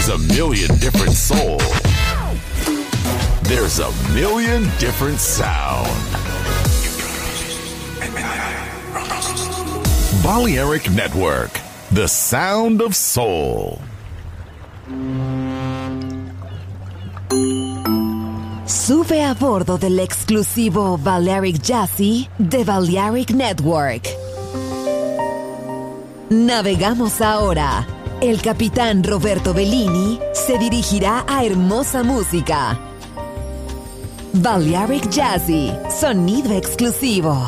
There's a million different soul. There's a million different sound. Balearic Network, the sound of soul. Sube a bordo del exclusivo Balearic Jazzy de Balearic Network. Navegamos ahora. El capitán Roberto Bellini se dirigirá a hermosa música. Balearic Jazzy, sonido exclusivo.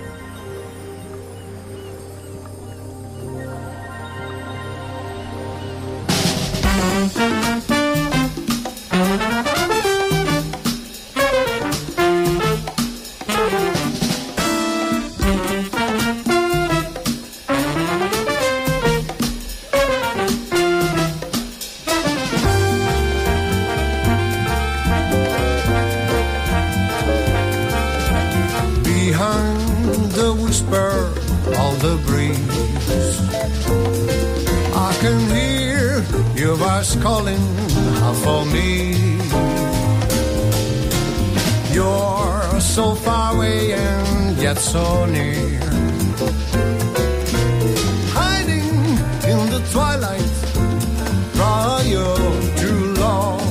Calling out for me. You're so far away and yet so near, hiding in the twilight prior to long,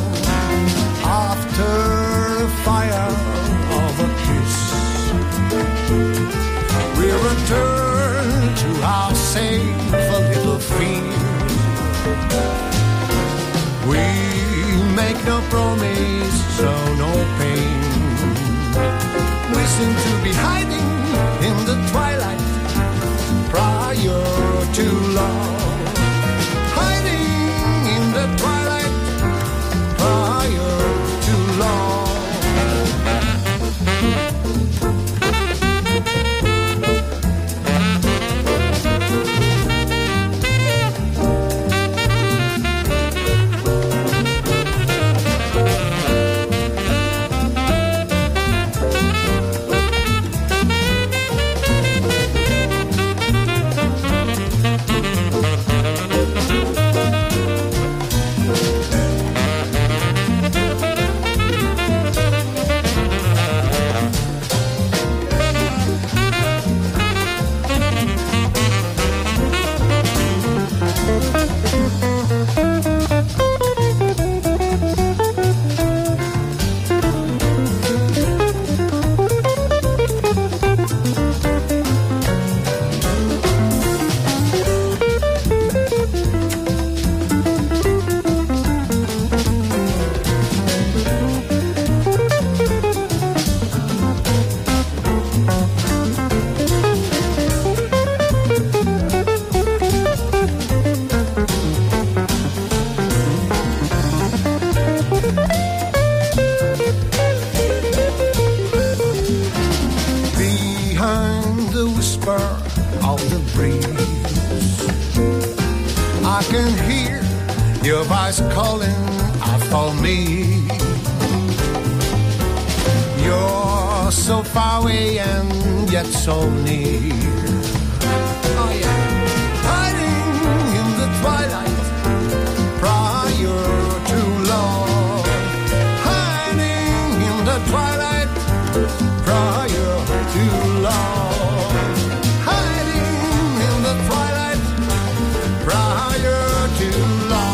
after the fire of a kiss. We return to our safe little field. We make no promise, so no pain. We seem to be hiding in the twilight prior to love. Hiding in the twilight prior to love. Calling out for me. You're so far away and yet so near. Oh yeah, hiding in the twilight prior to love. Hiding in the twilight prior to love. Hiding in the twilight prior to love.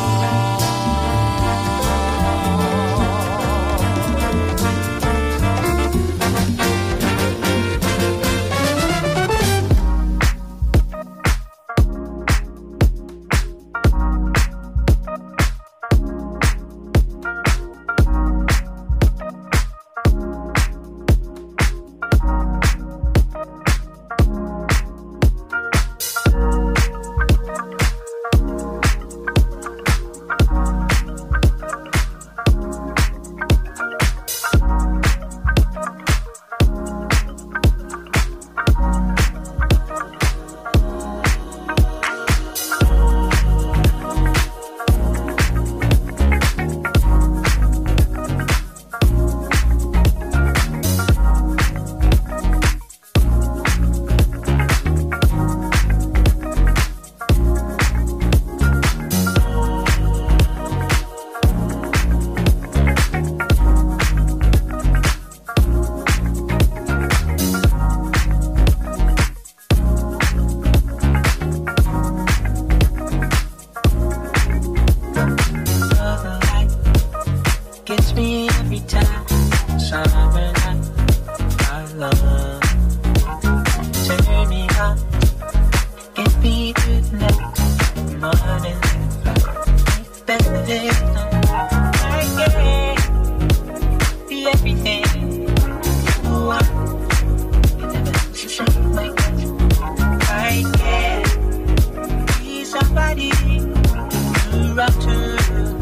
gets me every time. Summer night, our love. Turn me on, get me through the night. Morning, it's better than I can be everything you want. You never show my touch. I can be somebody to run to.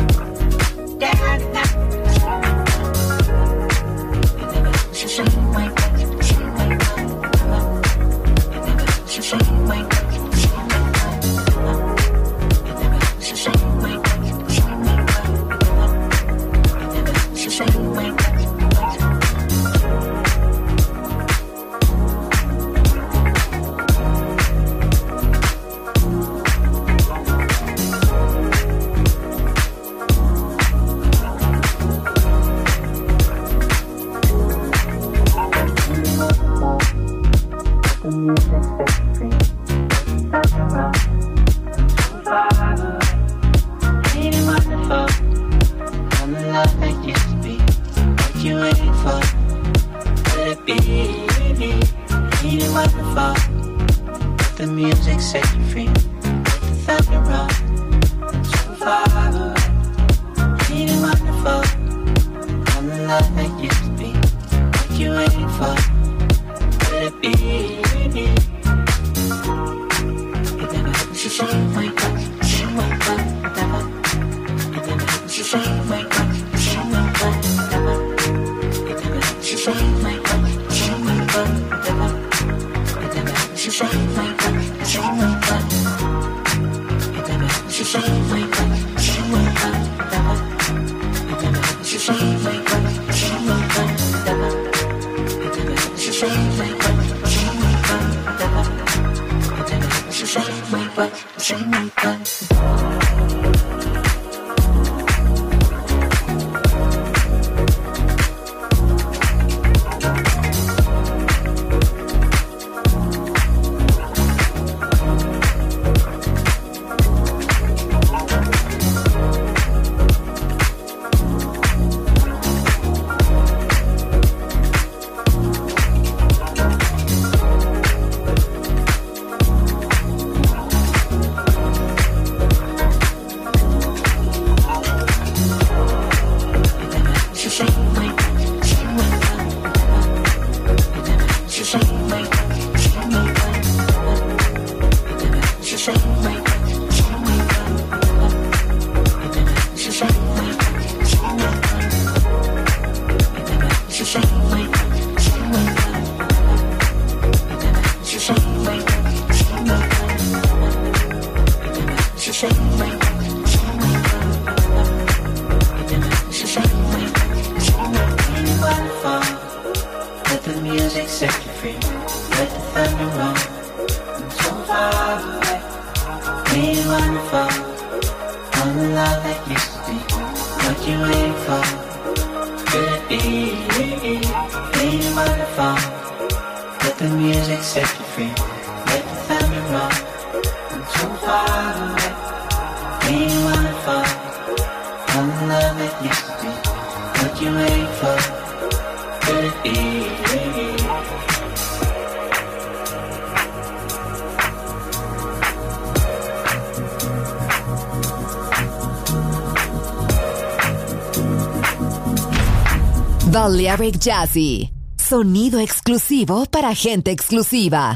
Balearic Jazzy, sonido exclusivo para gente exclusiva.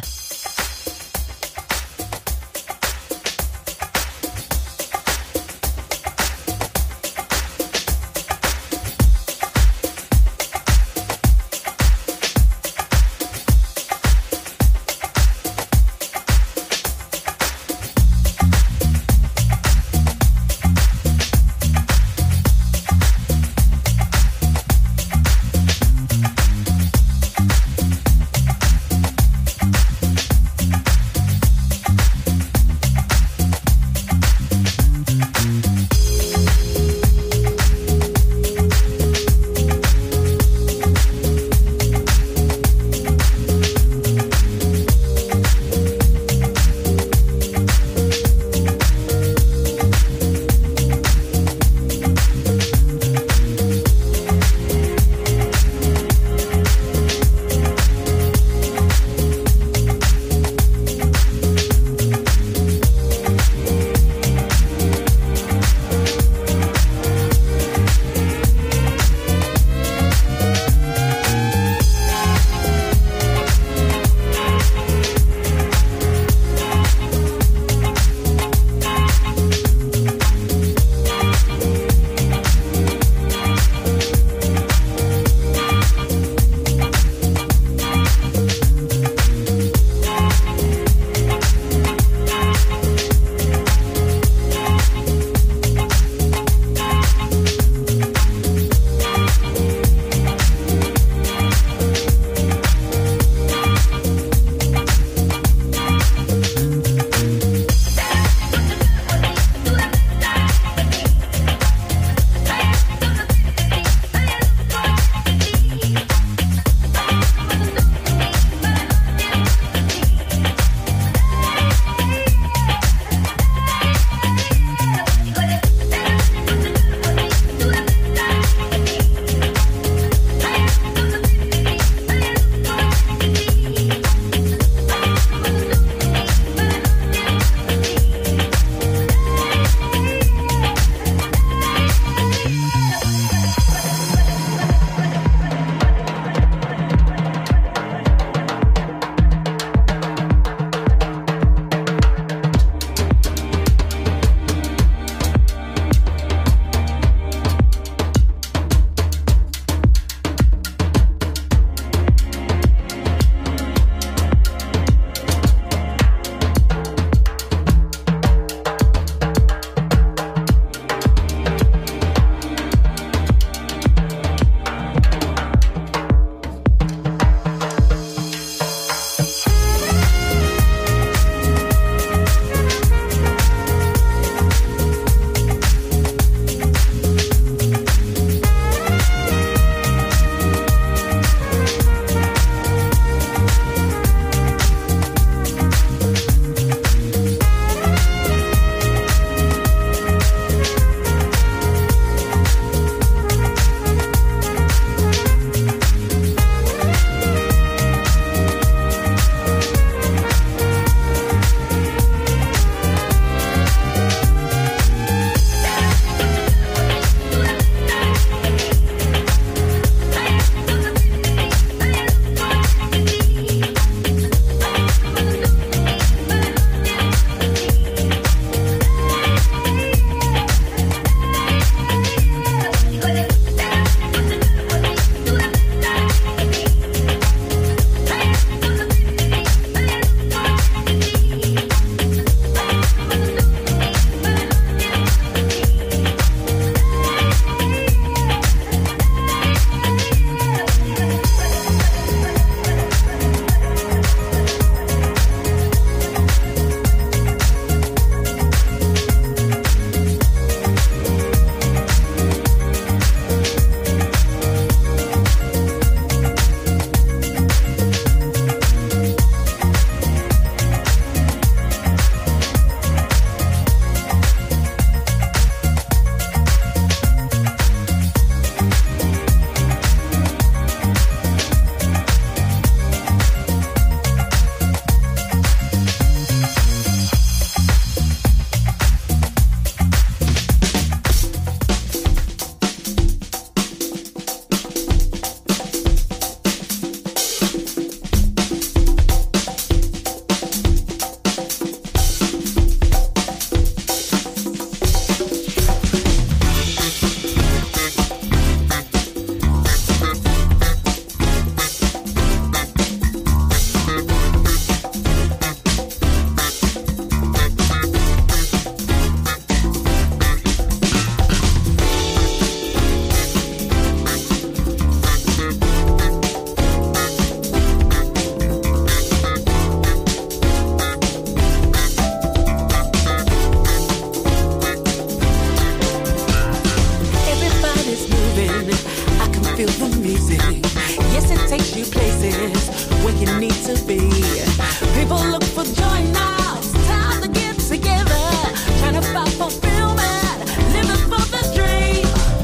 feel the music. Yes, it takes you places where you need to be. People look for joy now. It's time to get together. Trying to find fulfillment. Living for the dream.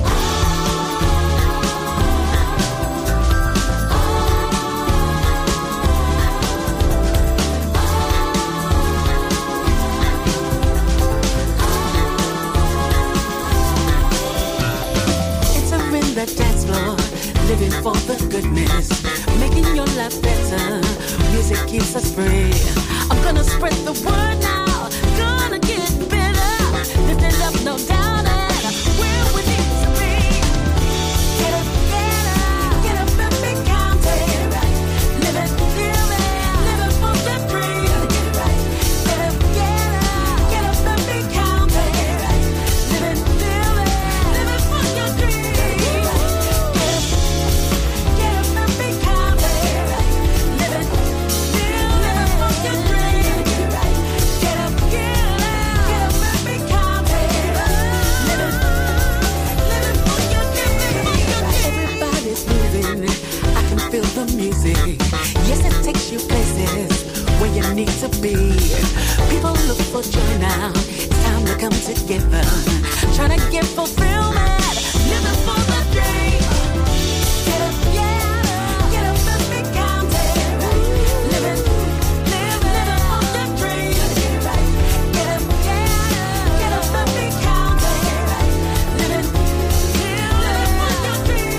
The dance floor, living for the goodness, making your life better. Music keeps us free. I'm gonna spread the word now, gonna get better. Lift it up, no doubt it. Where we need to be. Get up, get up and be counted. Live it, living for the dream. Get up and be counted. Living for your dream. Feel the music. Yes, it takes you places where you need to be. People look for joy now. It's time to come together. Trying to get fulfillment. Living for the dream. Get up, get up and be counted. Living for the dream. Get up and be counted. Living for your dream.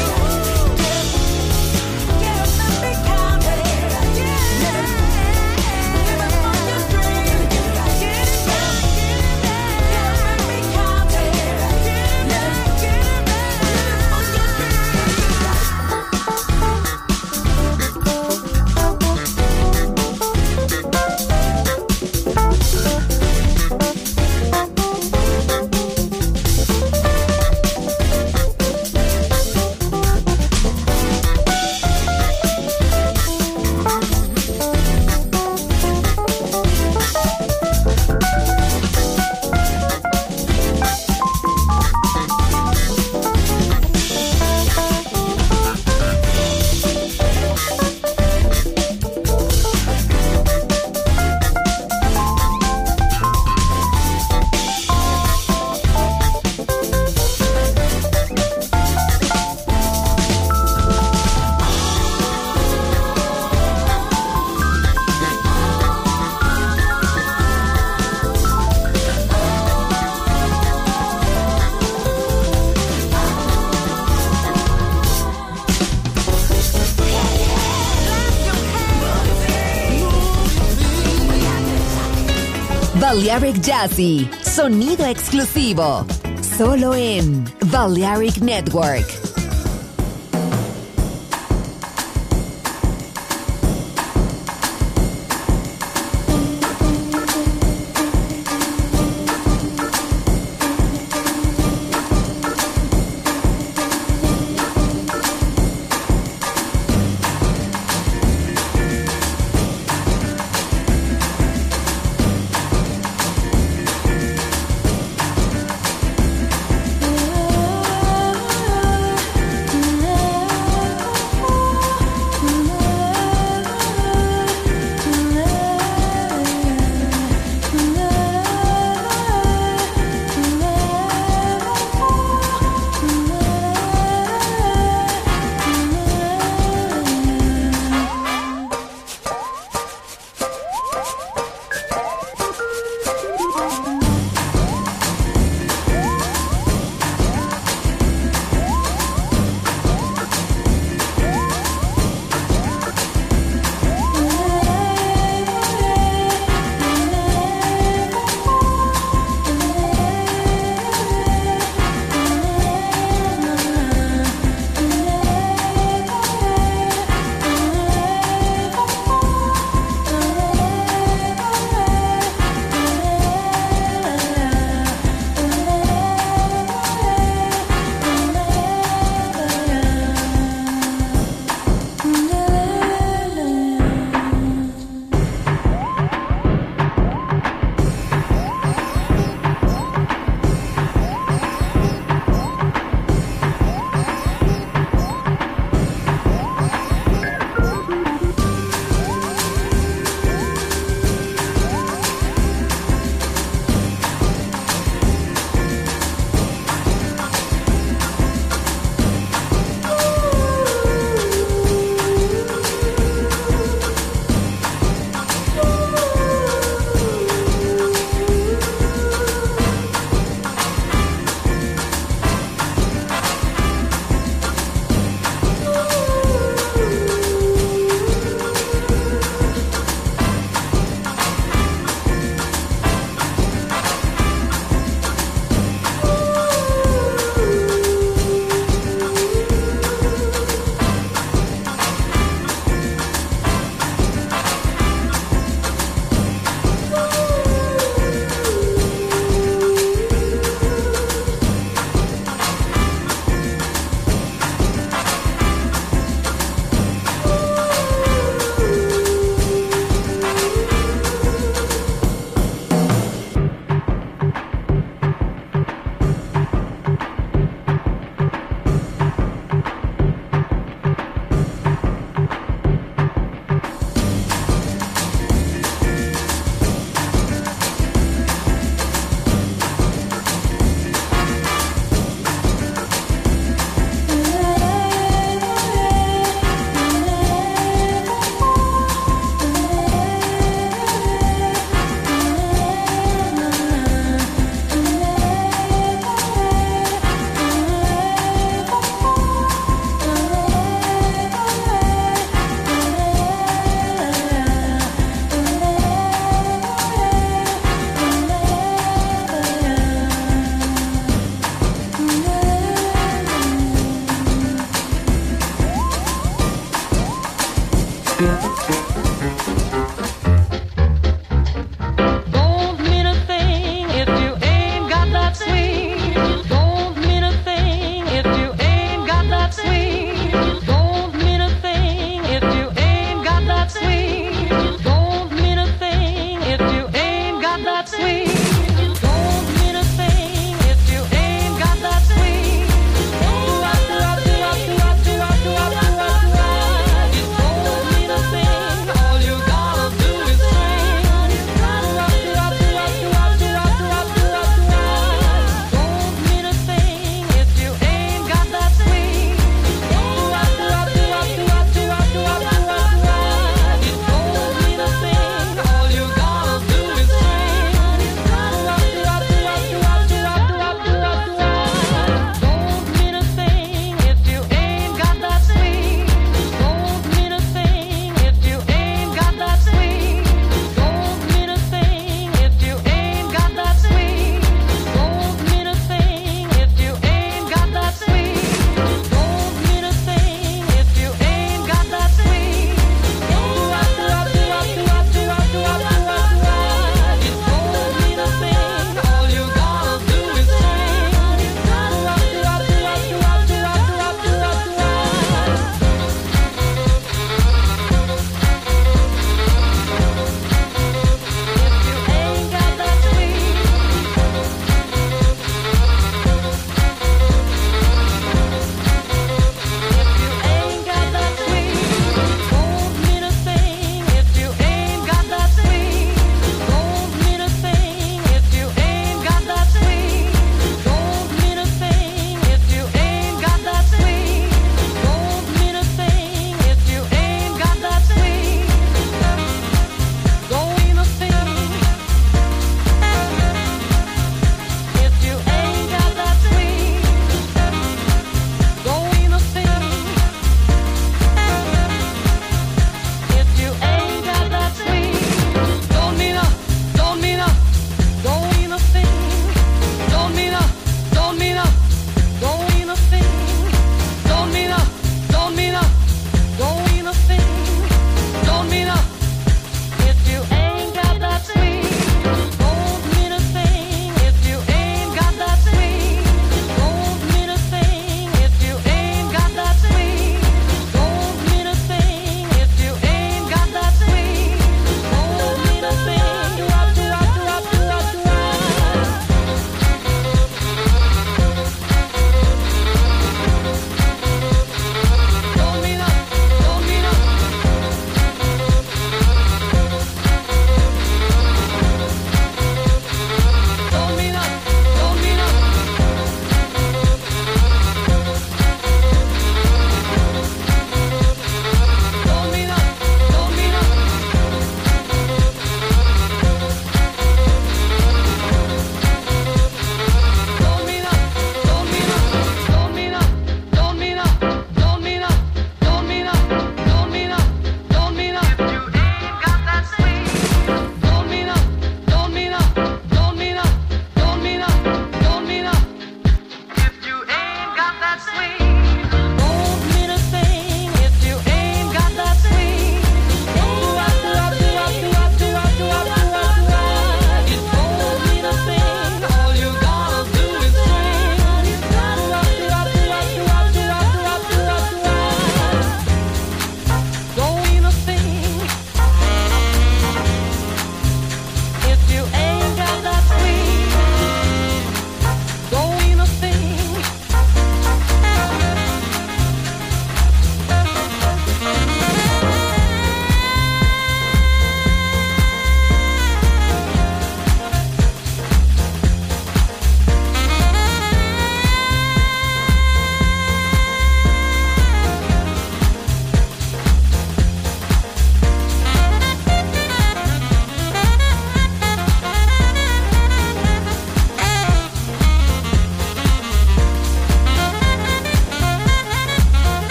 Balearic Jazzy, sonido exclusivo, solo en Balearic Network.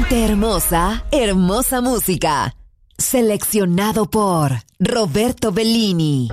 Gente hermosa, hermosa música. Seleccionado por Roberto Bellini.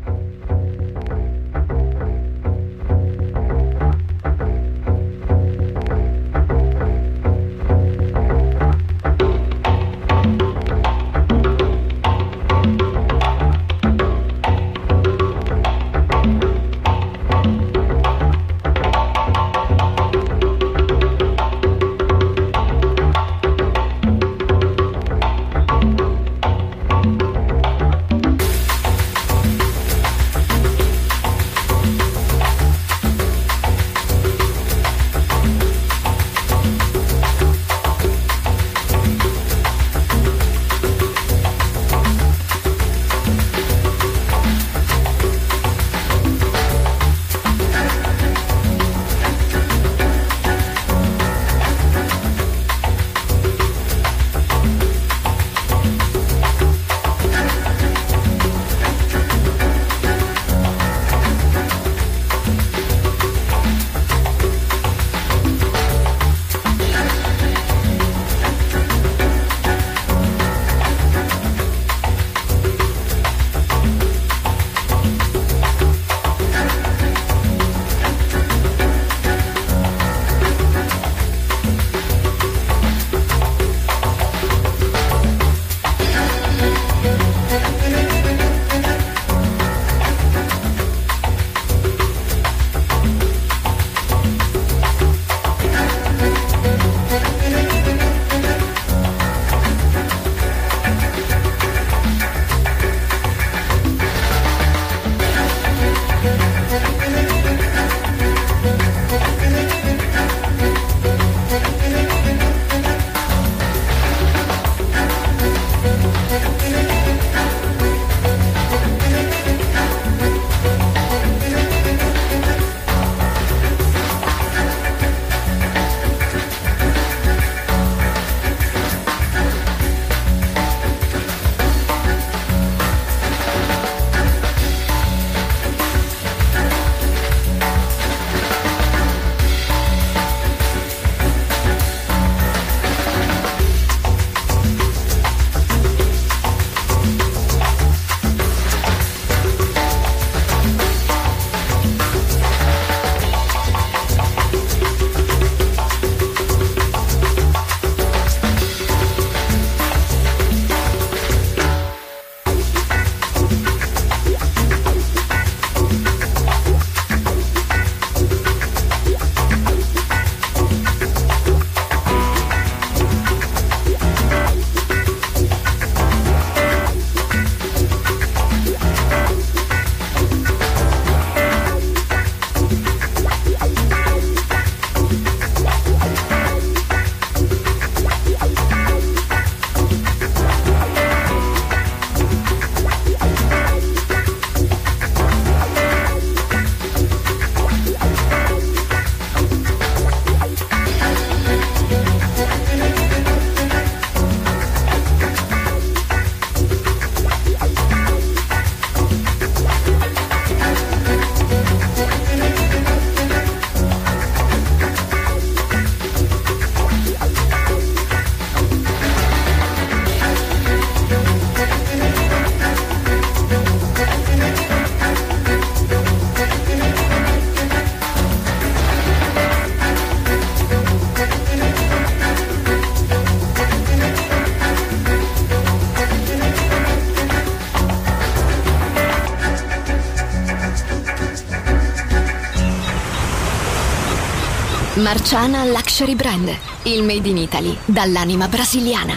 Marciana Luxury Brand, il made in Italy dall'anima brasiliana.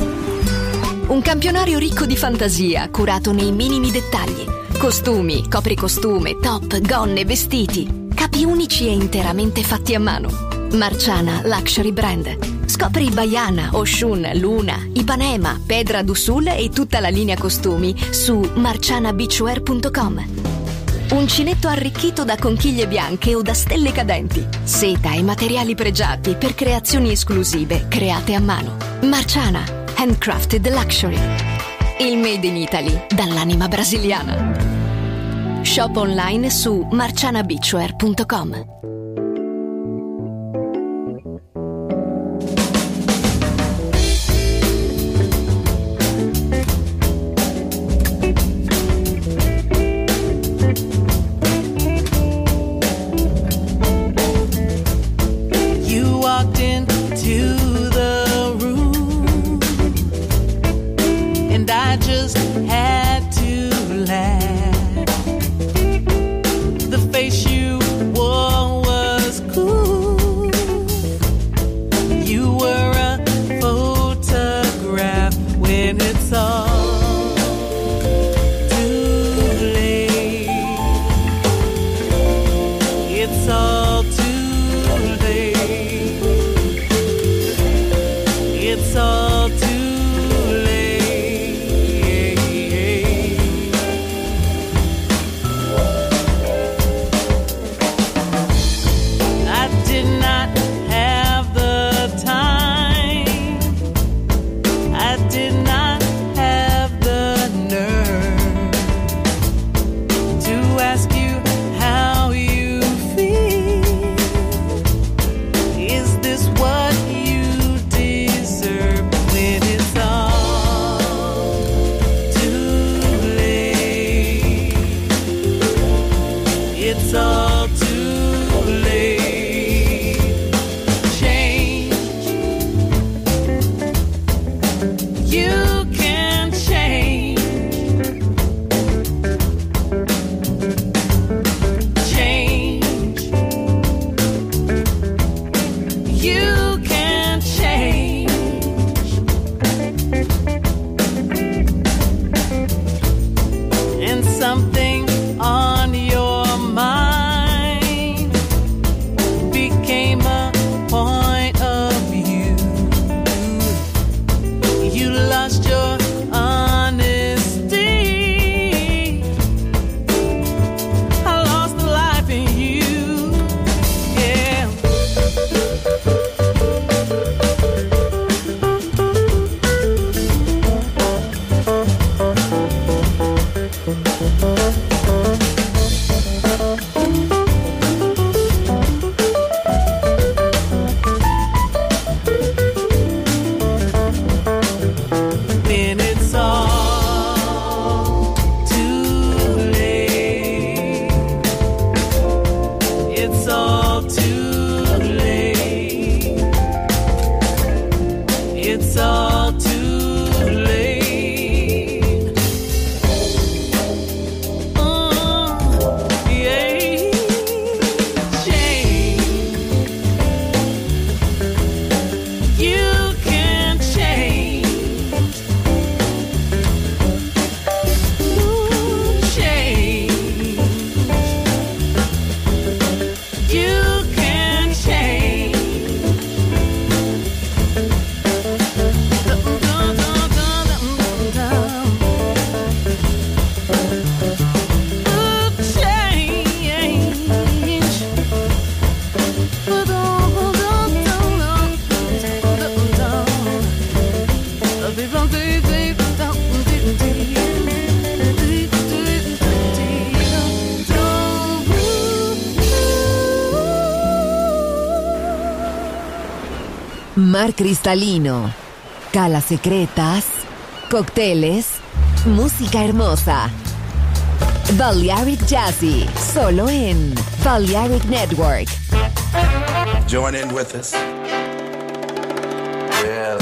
Un campionario ricco di fantasia, curato nei minimi dettagli. Costumi, copricostume, top, gonne, vestiti. Capi unici e interamente fatti a mano. Marciana Luxury Brand. Scopri Baiana, Oshun, Luna, Ipanema, Pedra do Sul e tutta la linea costumi su marcianabeachwear.com. Uncinetto arricchito da conchiglie bianche o da stelle cadenti. Seta e materiali pregiati per creazioni esclusive create a mano. Marciana, handcrafted luxury. Il made in Italy dall'anima brasiliana. Shop online su and I just had to laugh. The face you wore was cool. You were a photograph when it's all too late. It's all too late. It's all too Mar cristalino, calas secretas, cócteles, música hermosa. Balearic Jazzy, solo en Balearic Network. Join in with us. Yes.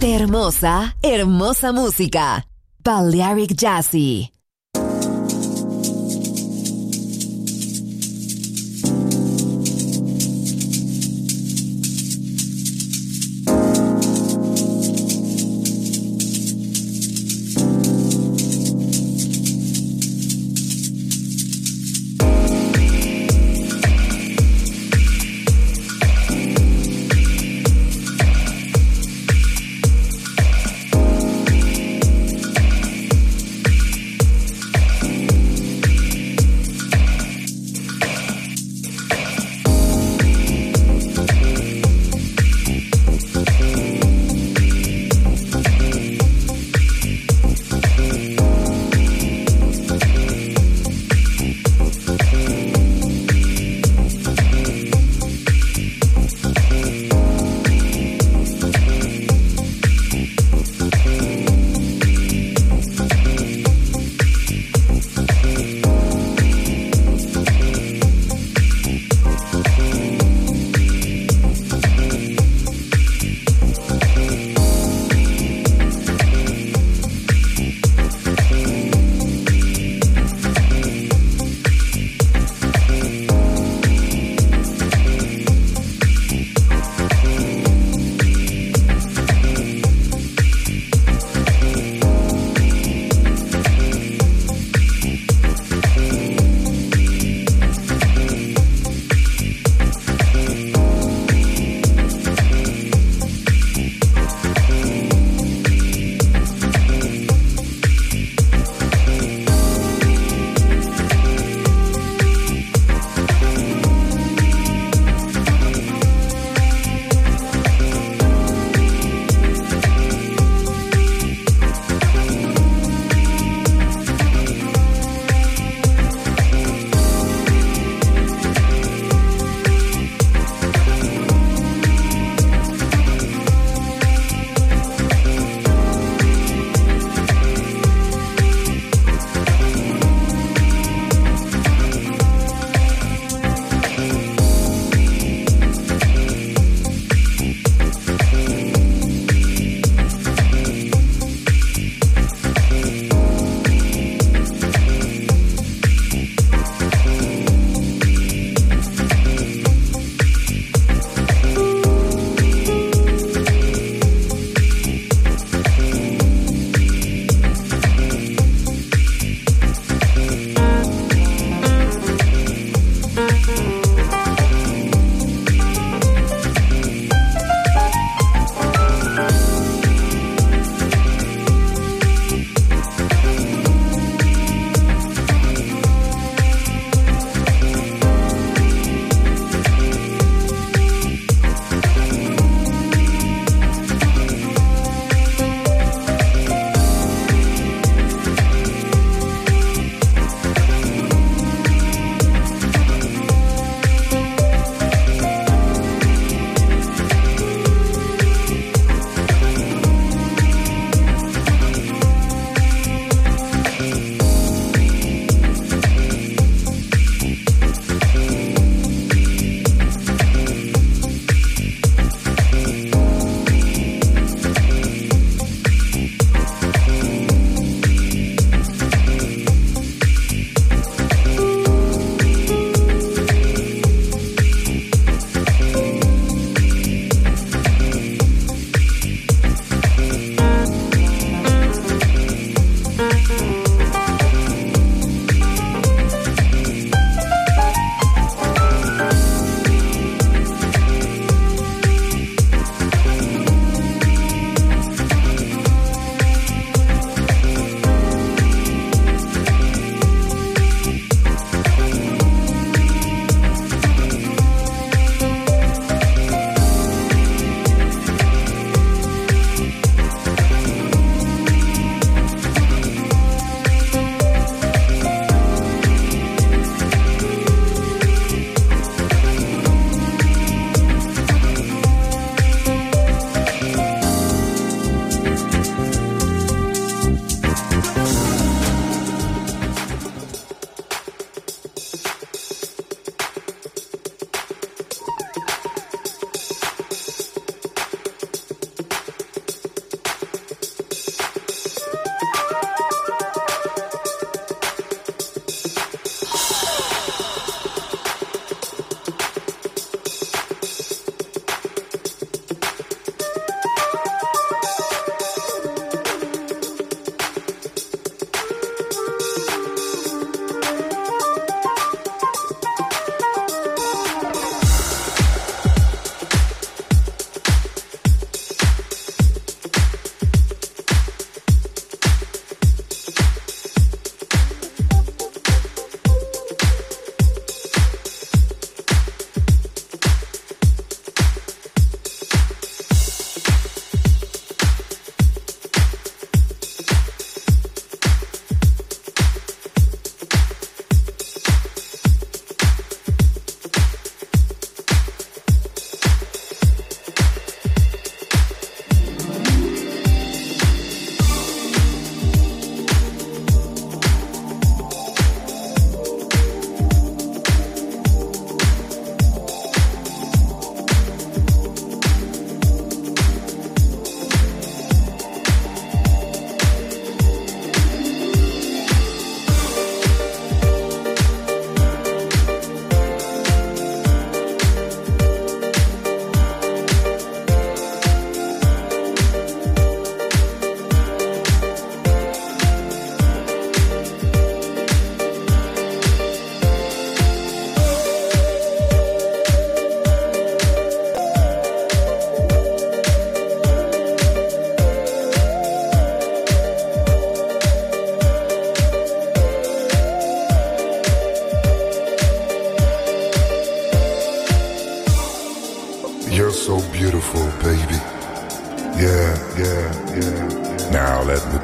Gente hermosa, hermosa música. Balearic Jazzy.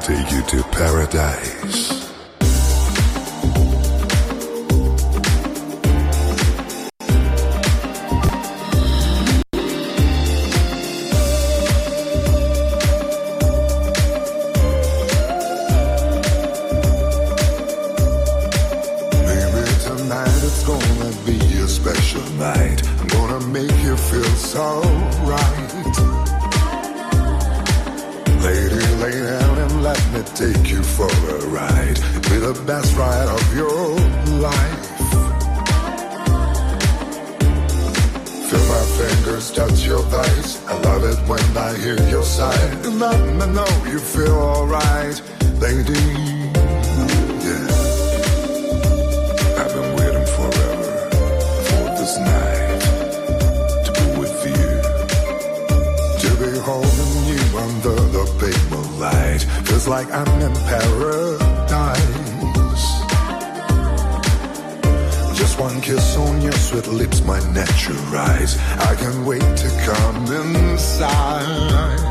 take you to paradise. Night. I'm gonna make you feel so right. Lady, lay down and let me take you for a ride. Be the best ride of your life. Feel my fingers touch your thighs. I love it when I hear your sigh. And let me know you feel alright, lady. Night to be with you, to be holding you under the big moonlight. Feels like I'm in paradise. Just one kiss on your sweet lips, my natural eyes. I can't wait to come inside.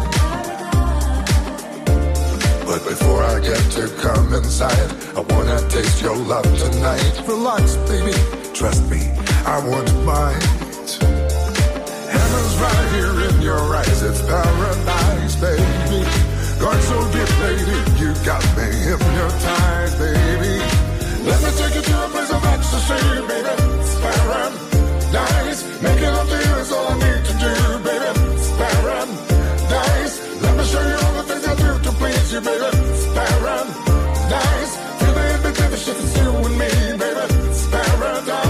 But before I get to come inside, I wanna taste your love tonight. Relax, baby, trust me, I won't bite. Heaven's right here in your eyes, it's paradise, baby. Going so deep, lady, you got me hypnotized, baby. Let me take you to a place of ecstasy, baby. It's paradise. Making love to you is all I need to do, baby. It's paradise. Let me show you all the things I do to please you, baby. It's paradise. Feel the invitation, it's you and me, baby. It's paradise.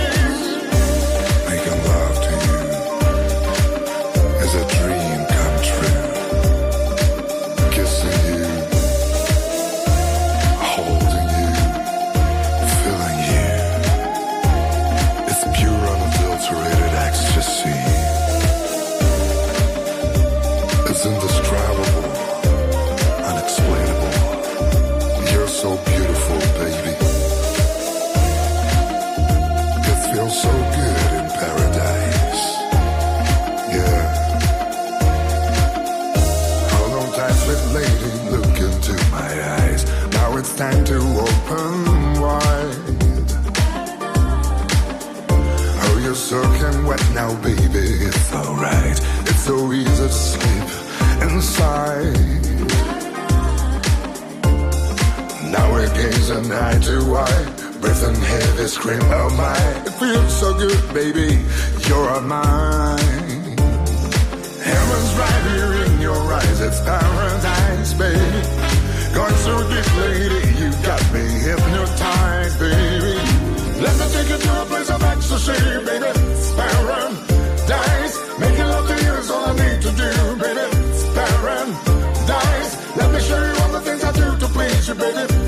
It's indescribable, unexplainable. You're so beautiful, baby. It feels so good in paradise. Yeah. Hold on tight, sweet lady, look into my eyes. Now it's time to open wide. Oh, you're soaking wet now, baby. It's alright. It's so easy to sleep inside. Now we're gazing eye to eye, breathing heavy, scream, oh my. It feels so good, baby, you're mine. Heaven's right here in your eyes, it's paradise, baby. Going so deep, lady, you got me hypnotized, baby. Let me take you to a place of ecstasy, baby. It's paradise. Making love to you is all I need to do, baby. It's paradise. Let me show you all the things I do to please you, baby.